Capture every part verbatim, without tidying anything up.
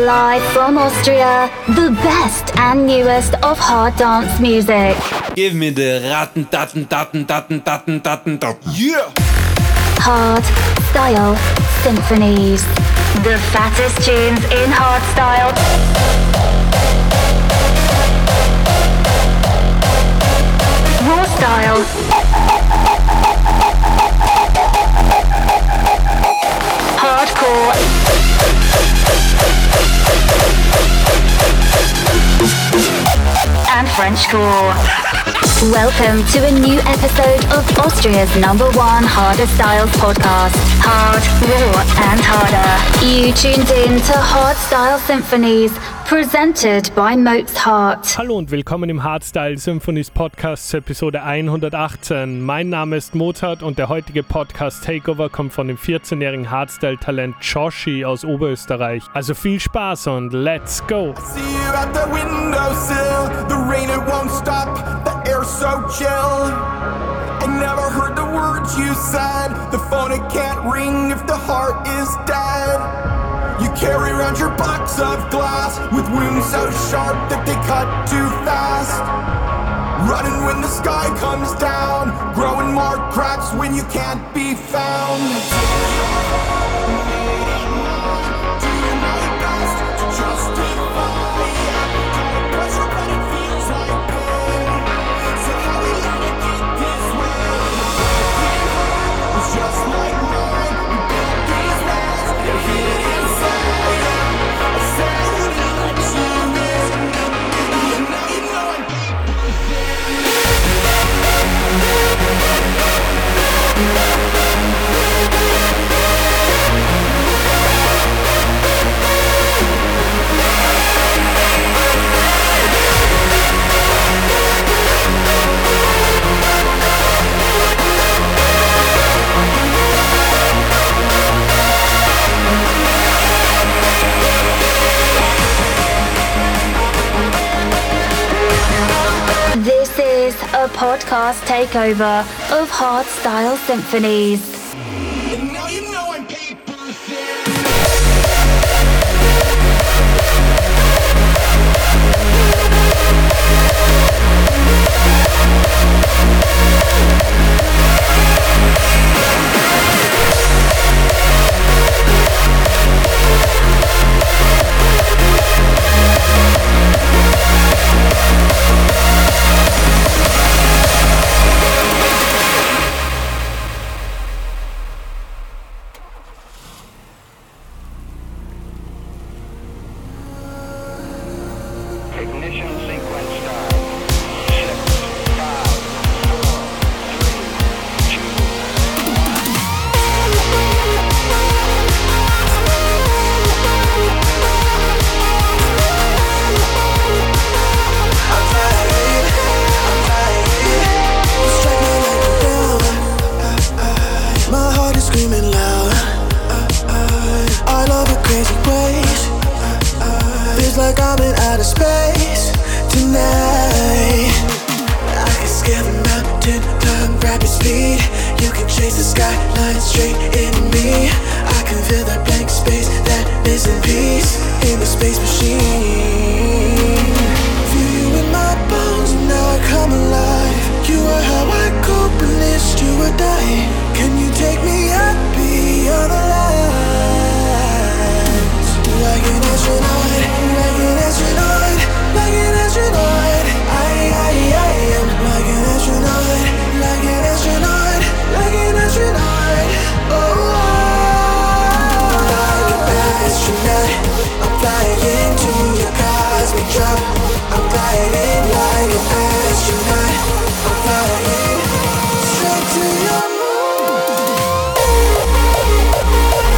Live from Austria, the best and newest of hard dance music. Give me the ratten, datten, datten, datten, datten, datten, datten. Yeah! Hard Style Symphonies. The fattest tunes in hard style. Raw style. Hardcore. And Frenchcore. Welcome to a new episode of Austria's number one harder styles podcast. Hard, raw and harder. You tuned in to Hard Style Symphonies, presented by Mozart. Hallo und willkommen im Hardstyle Symphonies Podcast zur Episode hundertachtzehn. Mein Name ist Mozart und der heutige Podcast Takeover kommt von dem vierzehnjährigen Hardstyle-Talent Joshi aus Oberösterreich. Also viel Spaß und let's go! I see you at the windowsill. The rain, it won't stop. The air's so chill. I never heard the words you said. The phone, it can't ring if the heart is dead. You carry around your box of glass with wounds so sharp that they cut too fast. Running when the sky comes down, growing more cracks when you can't be found. This is a podcast takeover of Hard Style Symphonies. And now you know I'm paper thin. Ignition sequence start. Six, five, four, three, two. I'm flying, I'm flying. You strike me like a bell. My heart is screaming loud. I love your crazy ways. Feels like I'm in outer space tonight. I can scale the mountain, climb rapid speed. You can chase the skyline straight into me. I can feel that blank space, that missing piece in the space machine. Feel you in my bones and now I come alive. You are how I cope in this, do or die. Can you take me up beyond the lines? Like an astronaut, like an astronaut, like an astronaut. I, I, I am like an astronaut, like an astronaut, like an astronaut. Oh, like an astronaut. I'm flying into your cosmic drop. I'm flying in like an astronaut. I'm flying straight to your moon.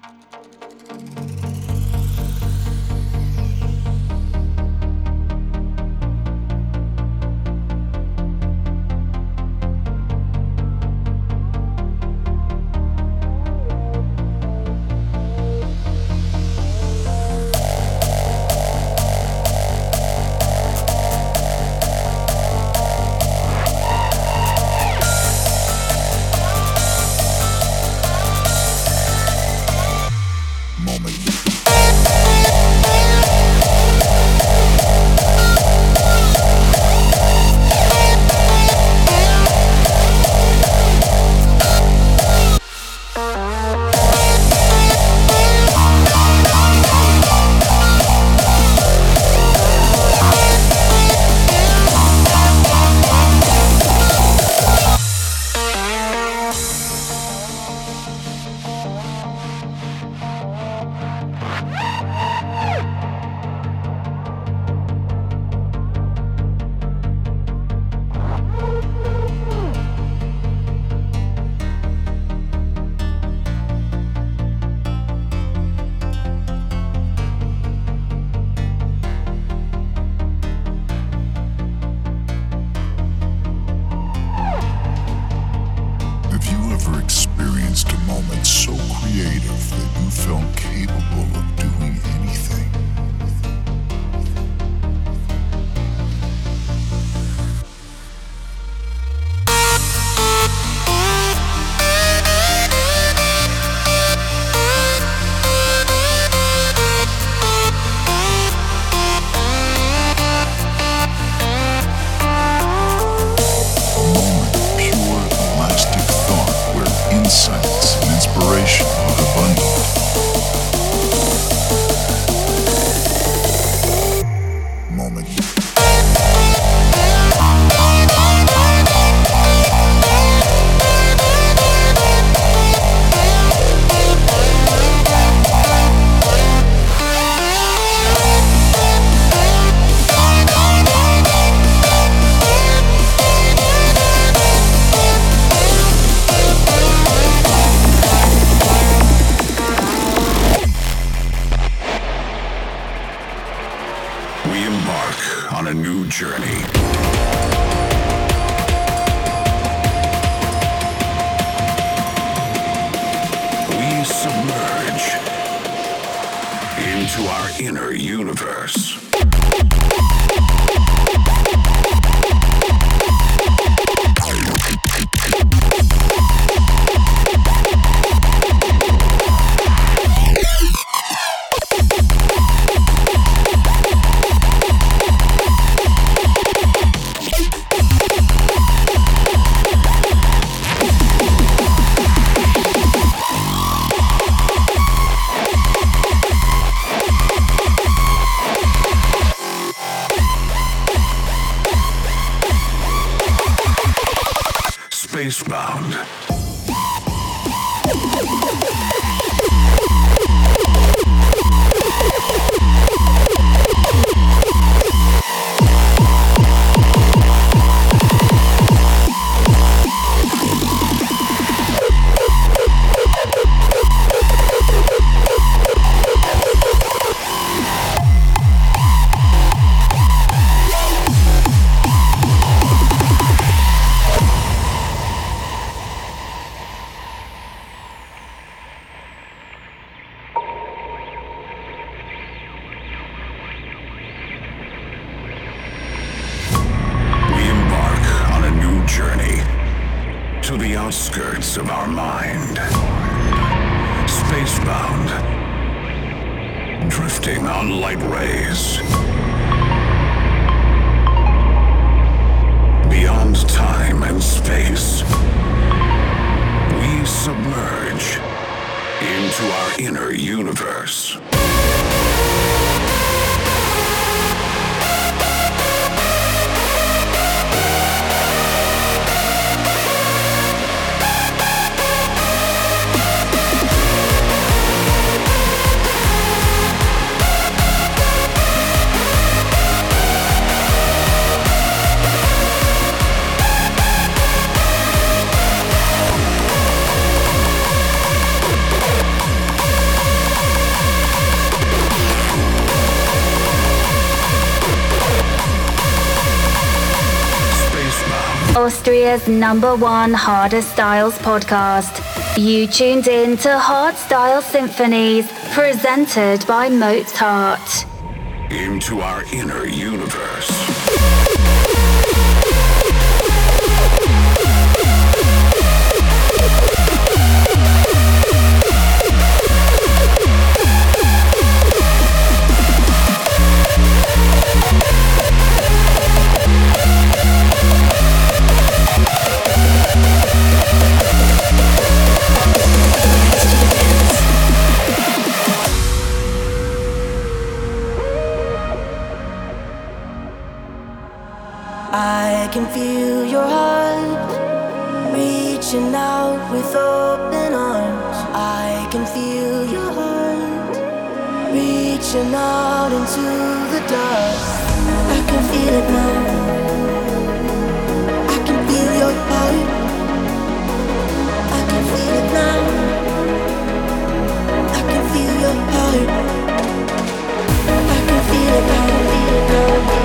journey. We submerge into our inner universe. Spacebound. Journey to the outskirts of our mind. Spacebound, drifting on light rays. Beyond time and space, we submerge into our inner universe. Austria's number one Harder Styles podcast. You tuned in to Hardstyle Symphonies, presented by Mozart. Into our inner universe. I can feel your heart reaching out with open arms. I can feel your heart reaching out into the dark. I can feel it now. I can feel your heart. I can feel it now. I can feel your heart. I can feel it now. Feel it now.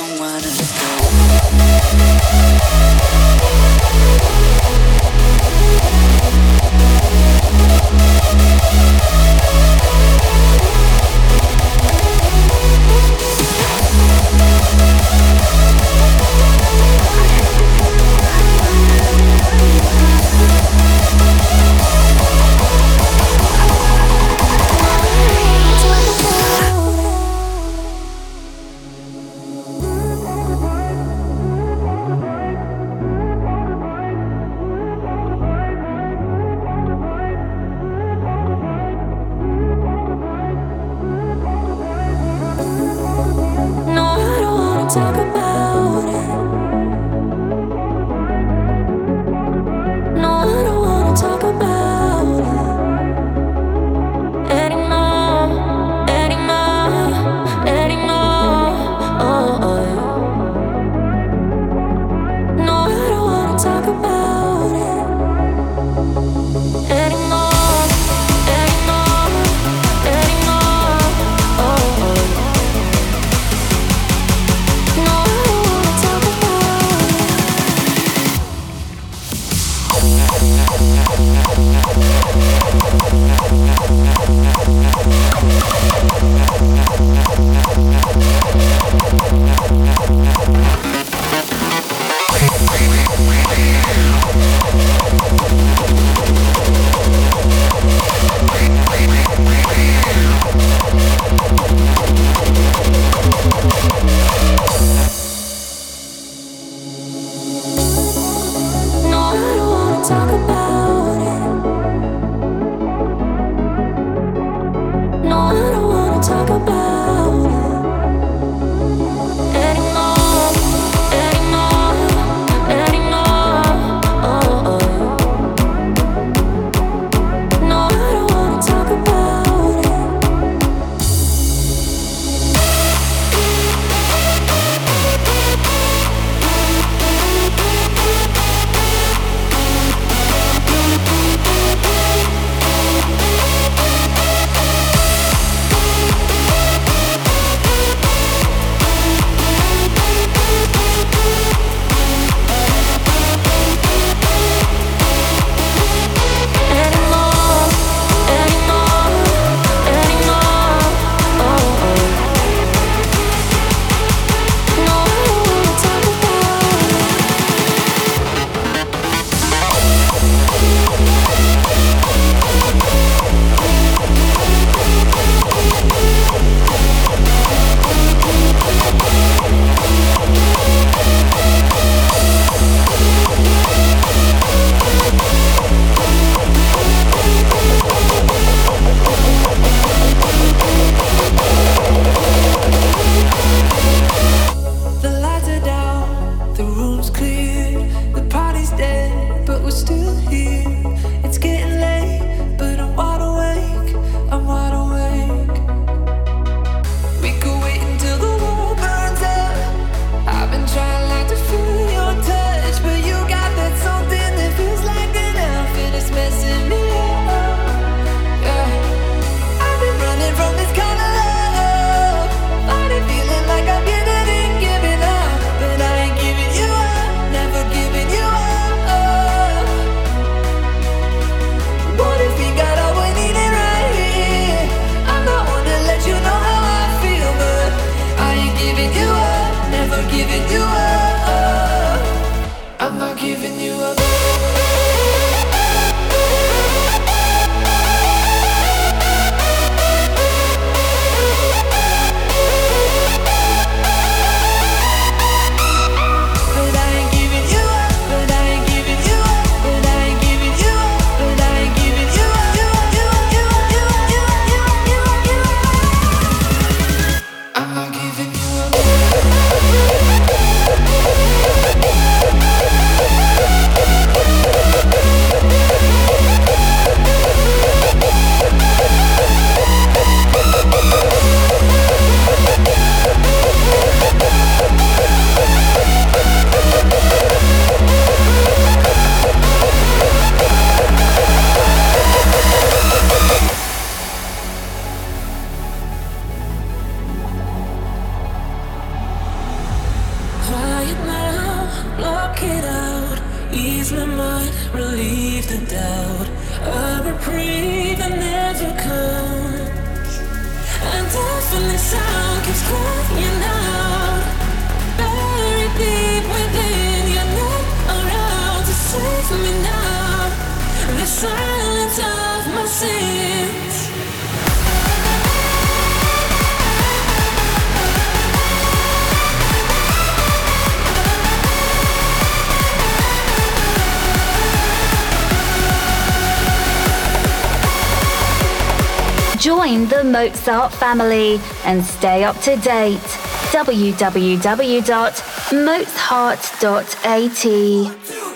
We'll be right back. Ease my mind, relieve the doubt. a reprieve that never comes. And deafening sound keeps crying out, buried deep within. You're not around to save me now. The silence of my sins. Join the Mozart family and stay up to date. w w w dot mozart dot a t.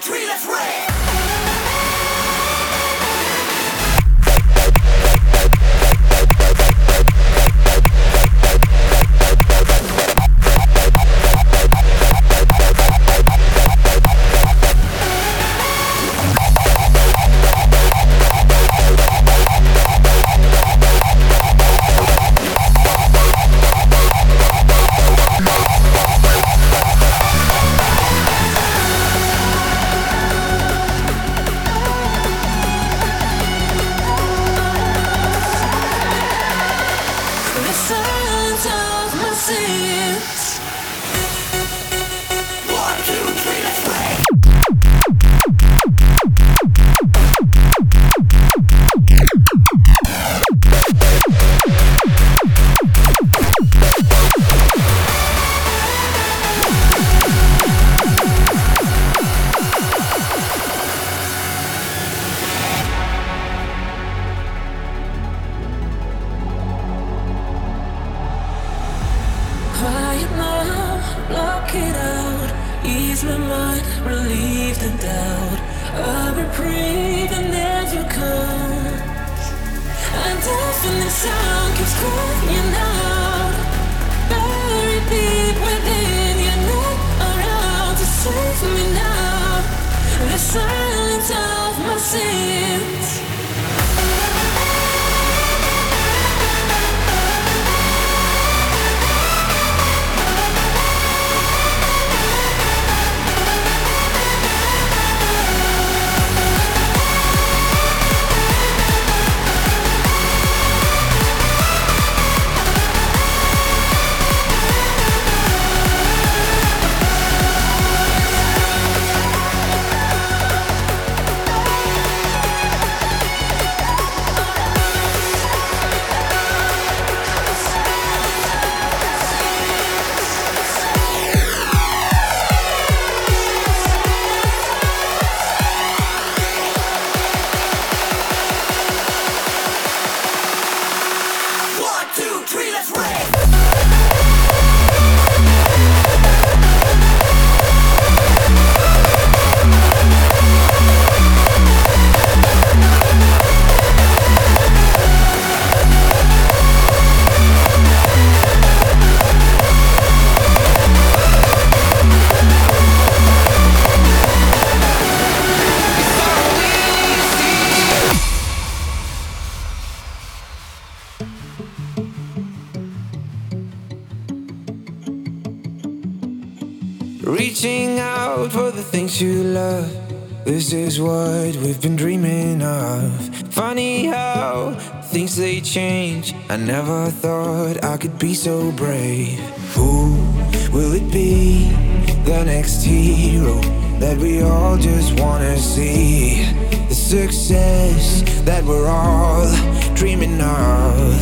Reaching out for the things you love. This is what we've been dreaming of. Funny how things they change. I never thought I could be so brave. Who will it be? The next hero that we all just wanna see. The success that we're all dreaming of.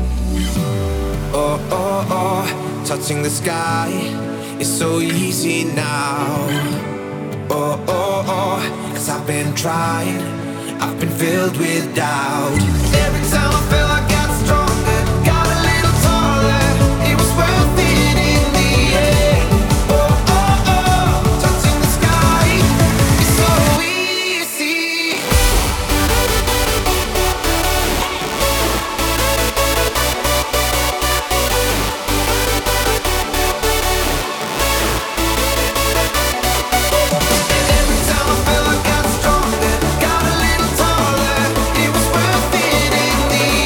Oh, oh, oh, touching the sky. It's so easy now. Oh, oh, oh, cause I've been trying. I've been filled with doubt. Every time I felt I got stronger, got a little taller. It was worth it in the end. Oh, oh, oh, touching the sky. It's so easy. The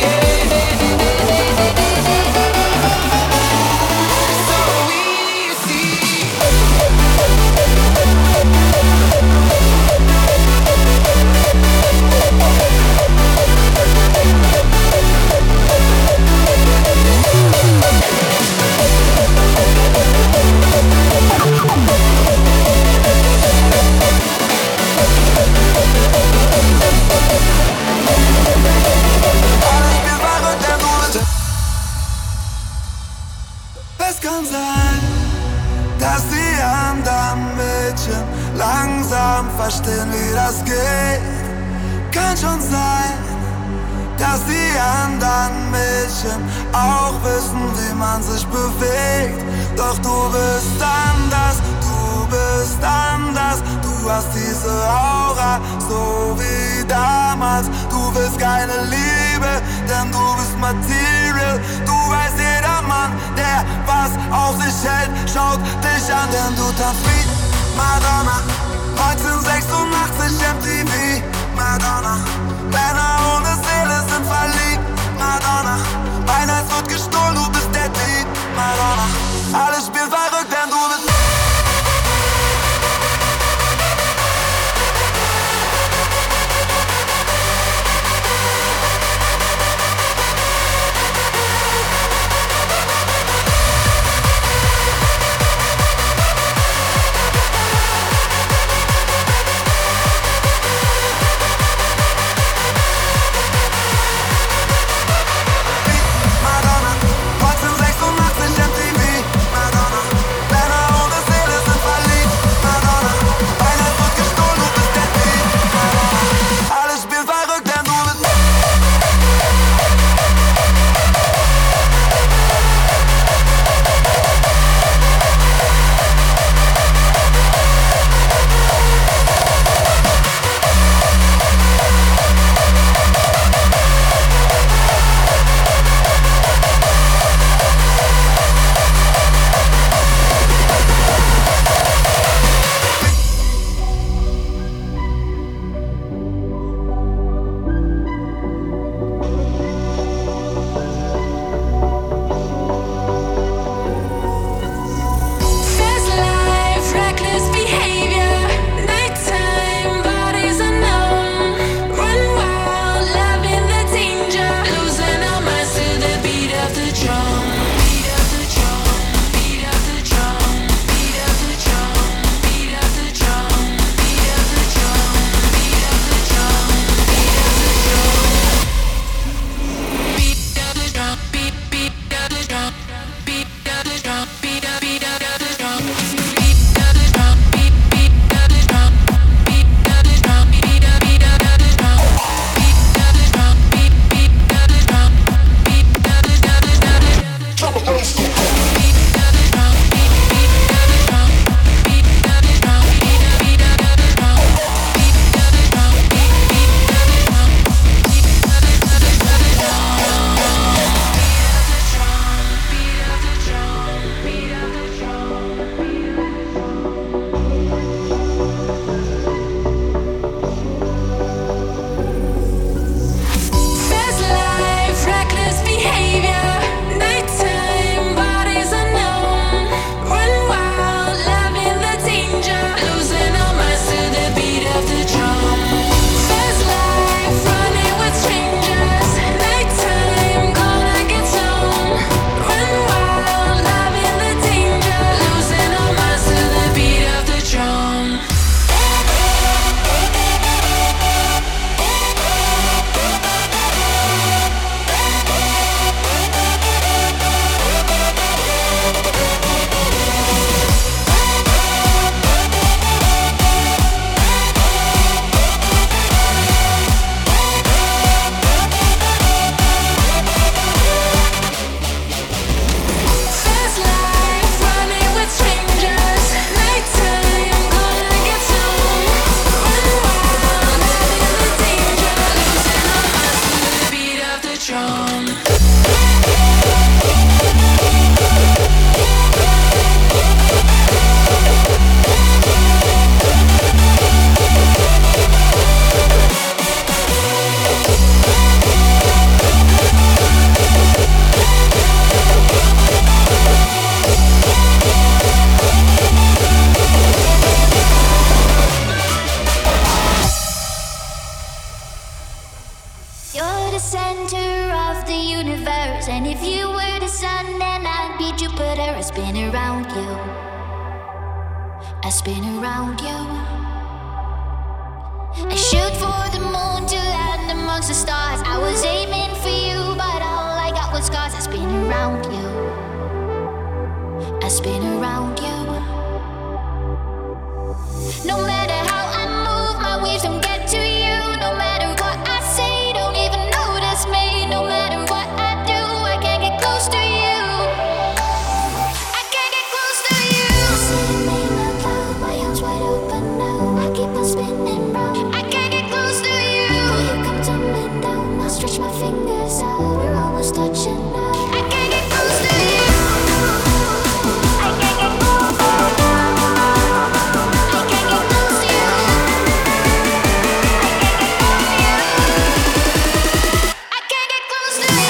Es kann sein, dass die anderen Mädchen langsam verstehen, wie das geht. Kann schon sein, dass die anderen Mädchen auch wissen, wie man sich bewegt. Doch du bist anders, du bist anders. Du hast diese Aura, so wie damals. Du willst keine Liebe, denn du bist Material. Du weißt, jeder Mann, der was auf sich hält, schaut dich an, denn du tanzt wie Madonna. neunzehnhundertsechsundachtzig M T V, Madonna. Männer ohne Seele sind verliebt, Madonna. Mein Herz wird gestohlen, du bist der Dieb, Madonna. Alles spielt verrückt, denn du bist I spin around you. I shoot for the moon to land amongst the stars. I was aiming for you, but all I got was scars. I spin around you. I spin around you. No matter how I move, my waves don't get to you. No matter what I say, don't even notice me. No matter what I do, I can't get close to you. I can't get close to you. I see me out loud, my arms wide open now. I keep on spinning round. I can't get close to you. Will you come to me down? I'll stretch my fingers out. We're almost touching now. I can't get close to you. I can't get close. I can't get close to you. I can't get close to you.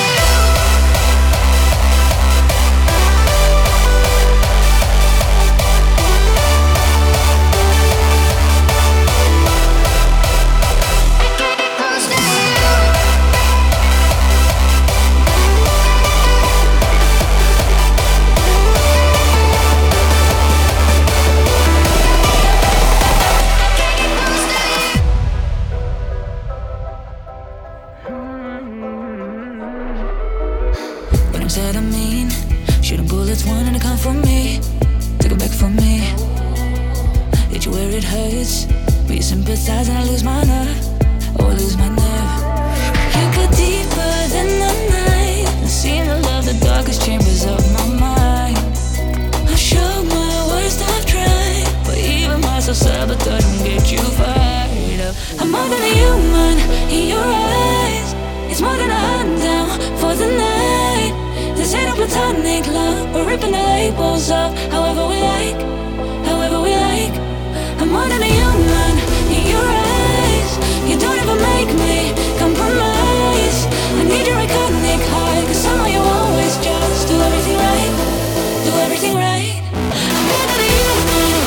What I'm said I mean, shooting bullets wanting to come from me. Take it back from me. Hit you where it hurts, but you sympathize and I lose my nerve. Oh, I lose my nerve. You go deeper than the night. I seem to love the darkest chambers of my mind. I showed my worst, I've tried, but even my self-sabotage won't get you fired up. I'm more than a human in your eyes. It's more than a hand down for the night. This ain't a platonic love. We're ripping the labels off however we like, however we like. I'm more than a human in your eyes. You don't ever make me compromise. I need your iconic heart, cause somehow you always just do everything right, do everything right. I'm more than a human.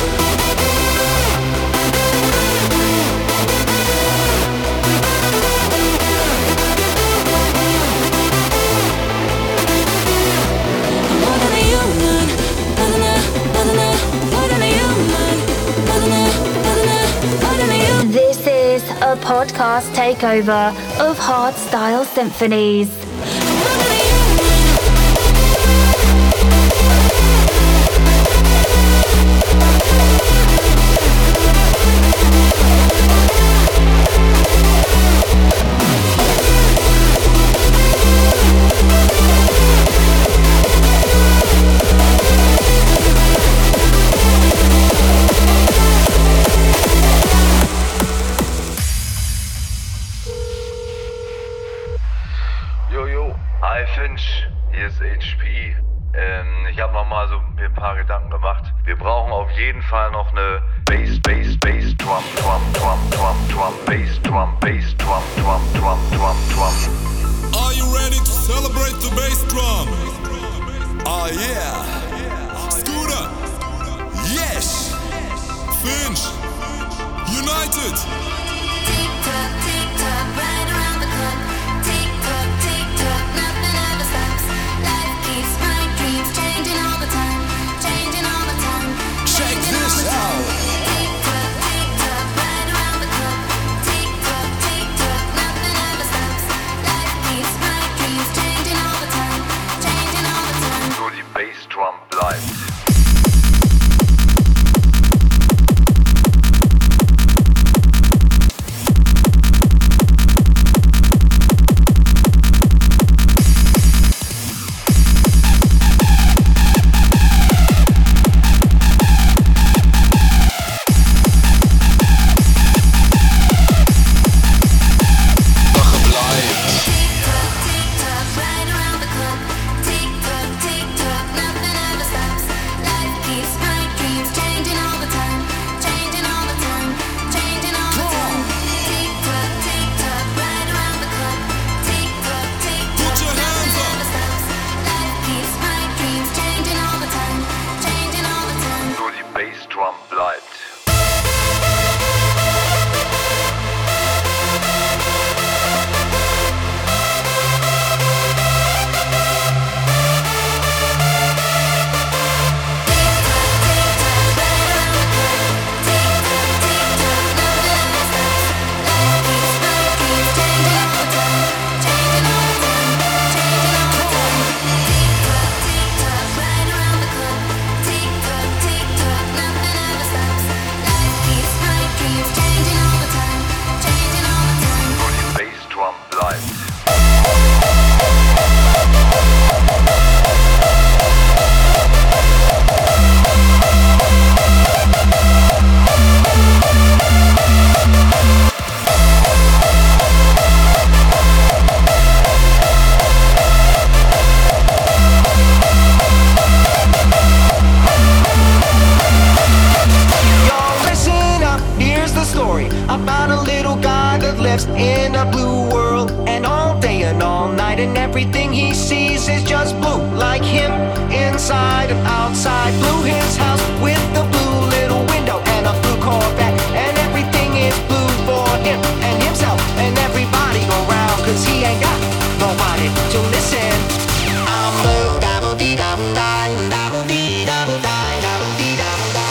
More than a human, more than a, more than a, more than a human, more than a, more than a, more than a human. This is a podcast takeover of Hardstyle Symphonies. Jojo, hi Finch, hier ist H P. Ähm, ich habe noch mal so mir ein paar Gedanken gemacht. Wir brauchen auf jeden Fall noch eine Bass, Bass, Bass, Drum, Drum, Drum, Drum, Drum, Bass, Drum, Bass, Drum, Drum, Drum, Drum, Drum. Are you ready to celebrate the bass drum? Oh yeah. Scooter. Yes. Finch. United. Tick tock, tick tock, right around the clock. Tick tock, tick tock, nothing ever stops. Life keeps my dreams changing all the time, changing all the time. Check this out. Tick tock, tick tock, right around the clock. Tick tock, tick tock, nothing ever stops. Life keeps my dreams changing all the time, changing all the time. Nur die Bassdrum bleibt. Right around the clock, tick tock, tick tock, nothing ever stops. lives in a blue world, and all day and all night, and everything he sees is just blue. Like him, inside and outside. Blue his house with the blue little window and a blue Corvette, and everything is blue for him and himself and everybody around, cause he ain't got nobody to listen. I'm blue, dabble-dee-dabble-die, dabble-dee-dabble-die, dabble-dee-dabble-die.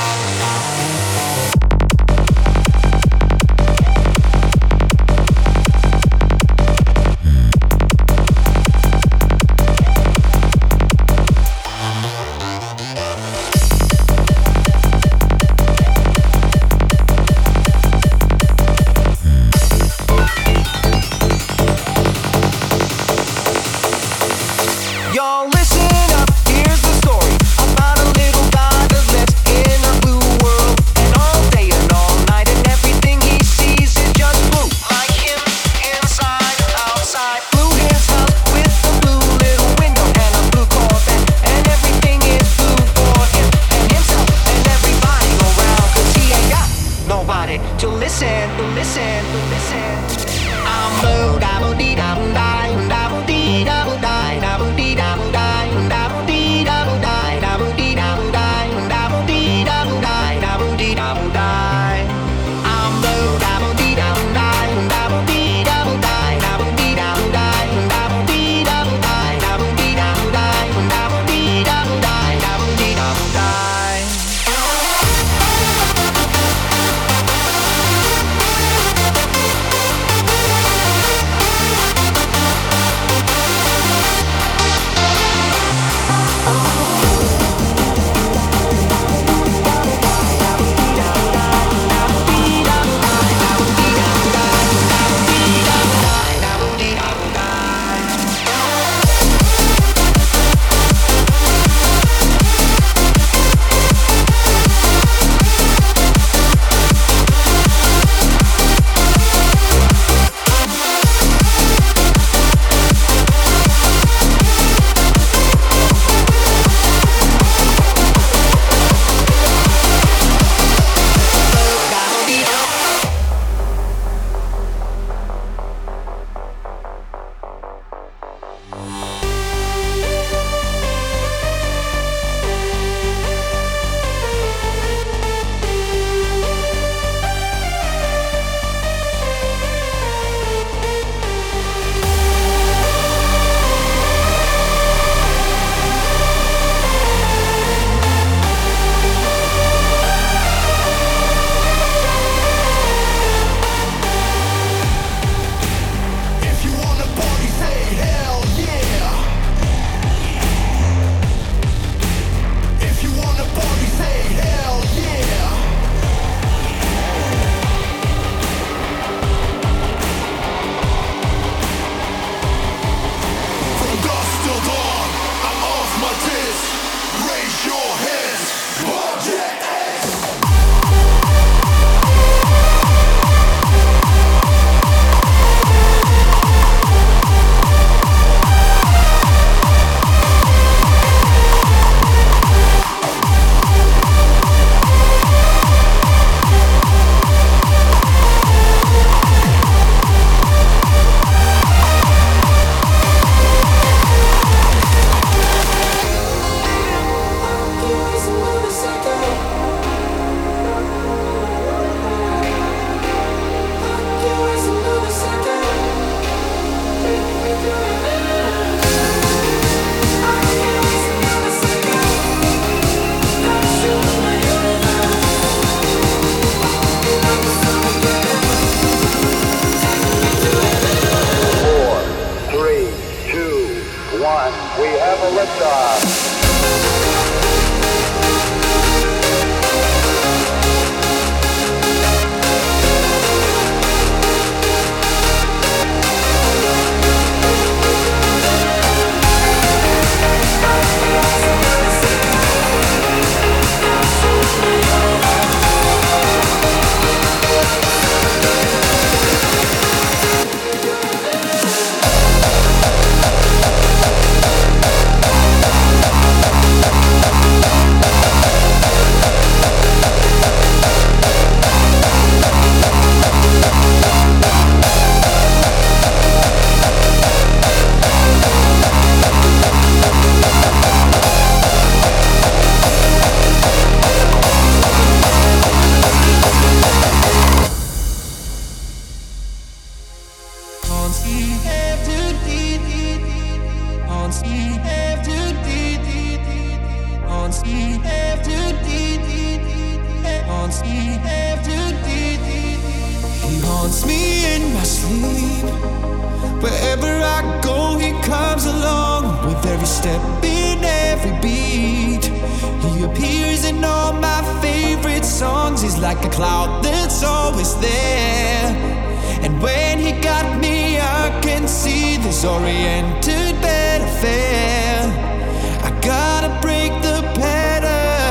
haunts me after deep. Haunts me after deep. He haunts me in my sleep. Wherever I go, he comes along with every step in every beat. He appears in all my favorite songs. He's like a cloud that's always there. And when he got me, I can see this oriented bed affair. I gotta break the pattern.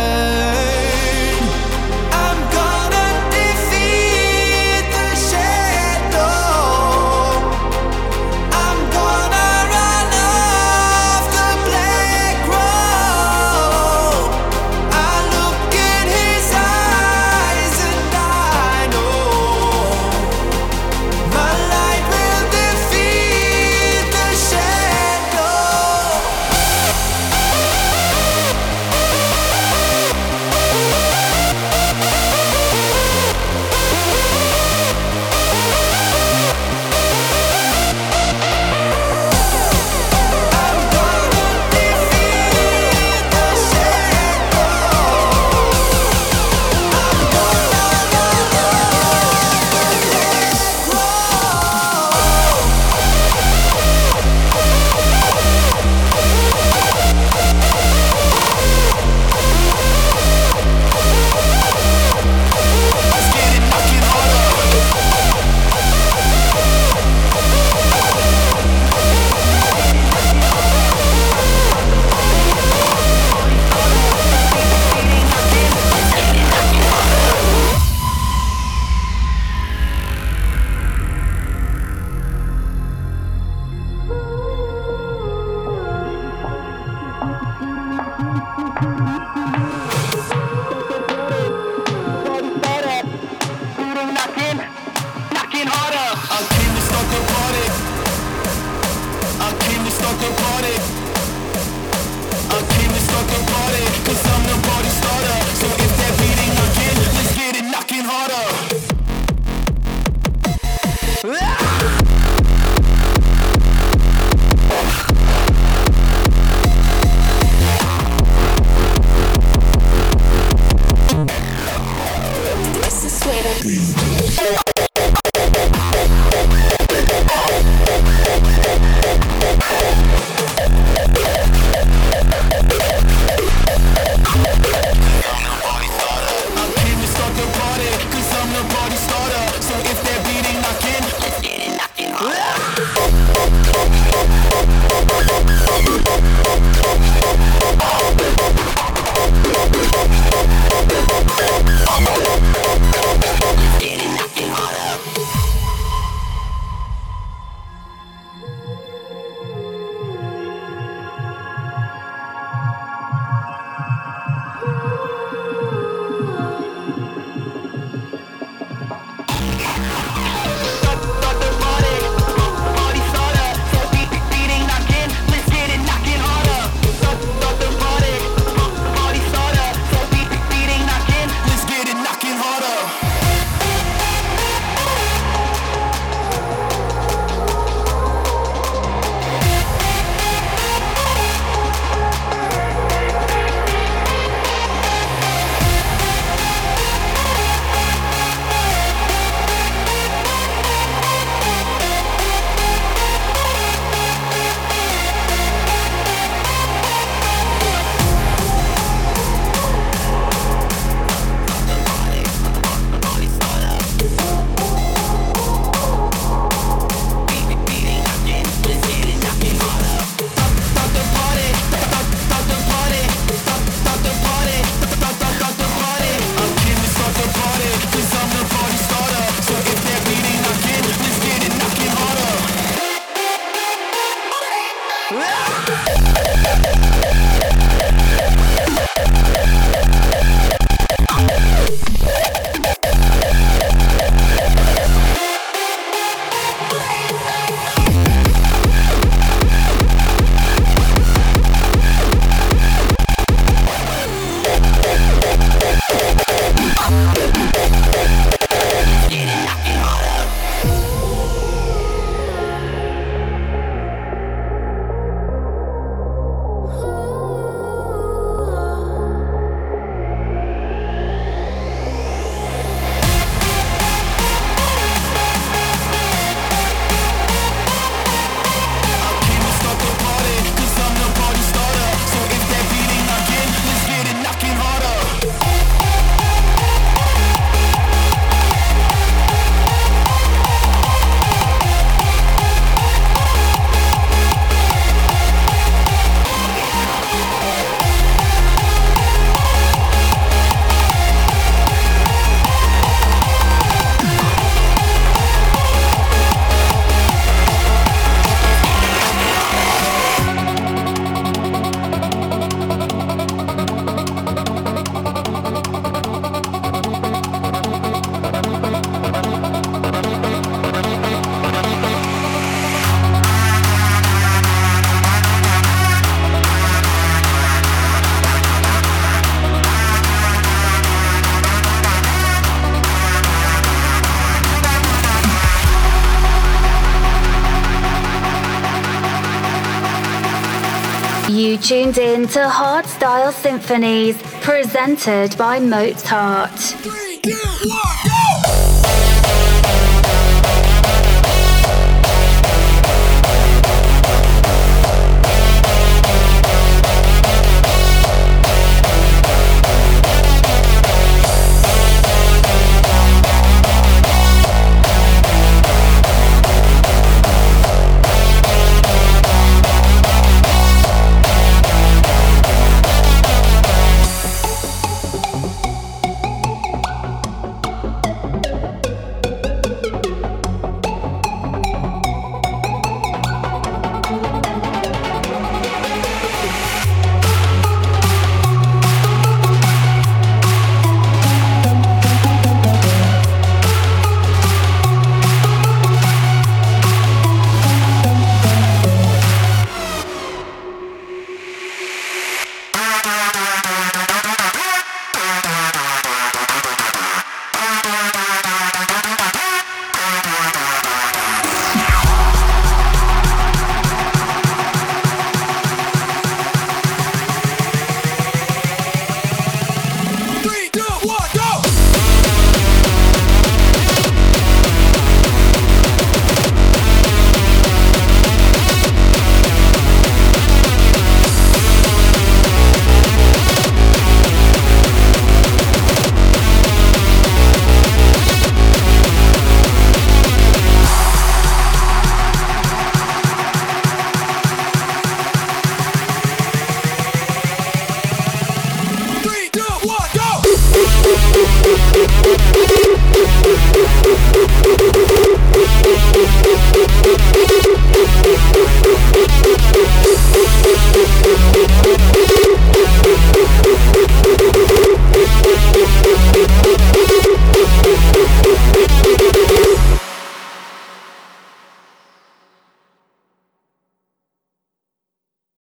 I'm gonna defeat the shadow. I'm gonna run off the black road. I look in his eyes and I know my light will defeat the shadow. You tuned in to Hardstyle Symphonies, presented by Mozart. Three, two, one, go! We'll be right back.